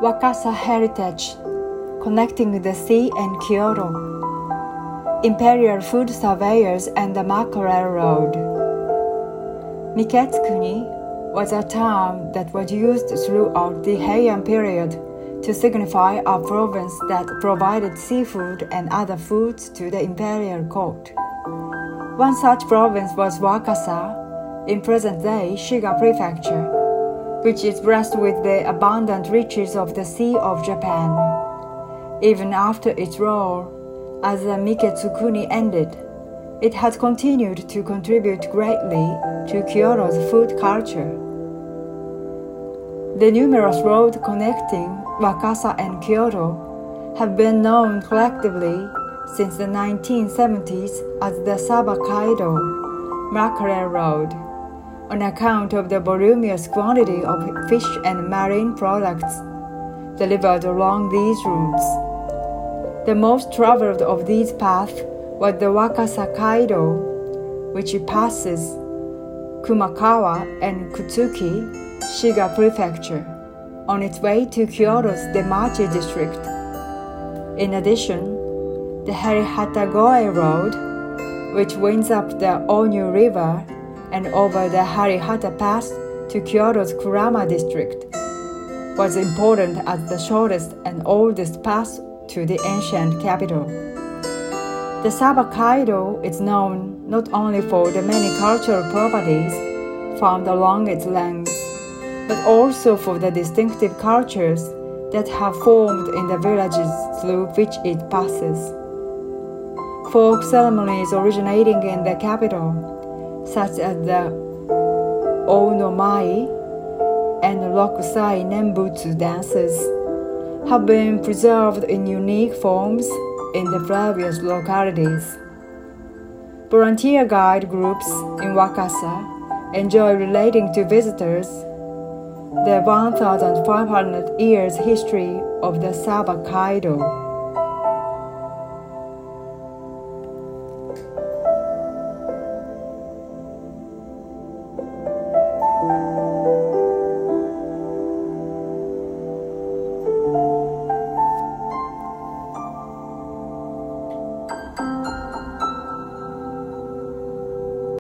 Wakasa Heritage, connecting the sea and Kyoto, Imperial Food Surveyors and the Mackerel Road. Miketsukuni was a term that was used throughout the Heian period to signify a province that provided seafood and other foods to the imperial court. One such province was Wakasa, in present-day Shiga Prefecture, which is blessed with the abundant riches of the Sea of Japan. Even after its role as the Miketsukuni ended, it has continued to contribute greatly to Kyoto's food culture. The numerous roads connecting Wakasa and Kyoto have been known collectively since the 1970s as the Saba-Kaido Mackerel Road, on account of the voluminous quantity of fish and marine products delivered along these routes. The most traveled of these paths was the Wakasa Kaido, which passes Kumakawa and Kutsuki, Shiga Prefecture, on its way to Kyoto's Demachi district. In addition, the Harihata-Goe Road, which winds up the Onyu River and over the Harihata Pass to Kyoto's Kurama district, was important as the shortest and oldest path to the ancient capital. The Saba-Kaido is known not only for the many cultural properties found along its length, but also for the distinctive cultures that have formed in the villages through which it passes. Folk ceremonies originating in the capital, such as the Onomai and Rokusai Nembutsu dances, have been preserved in unique forms in the various localities. Volunteer guide groups in Wakasa enjoy relating to visitors the 1,500 years history of the Saba-Kaido.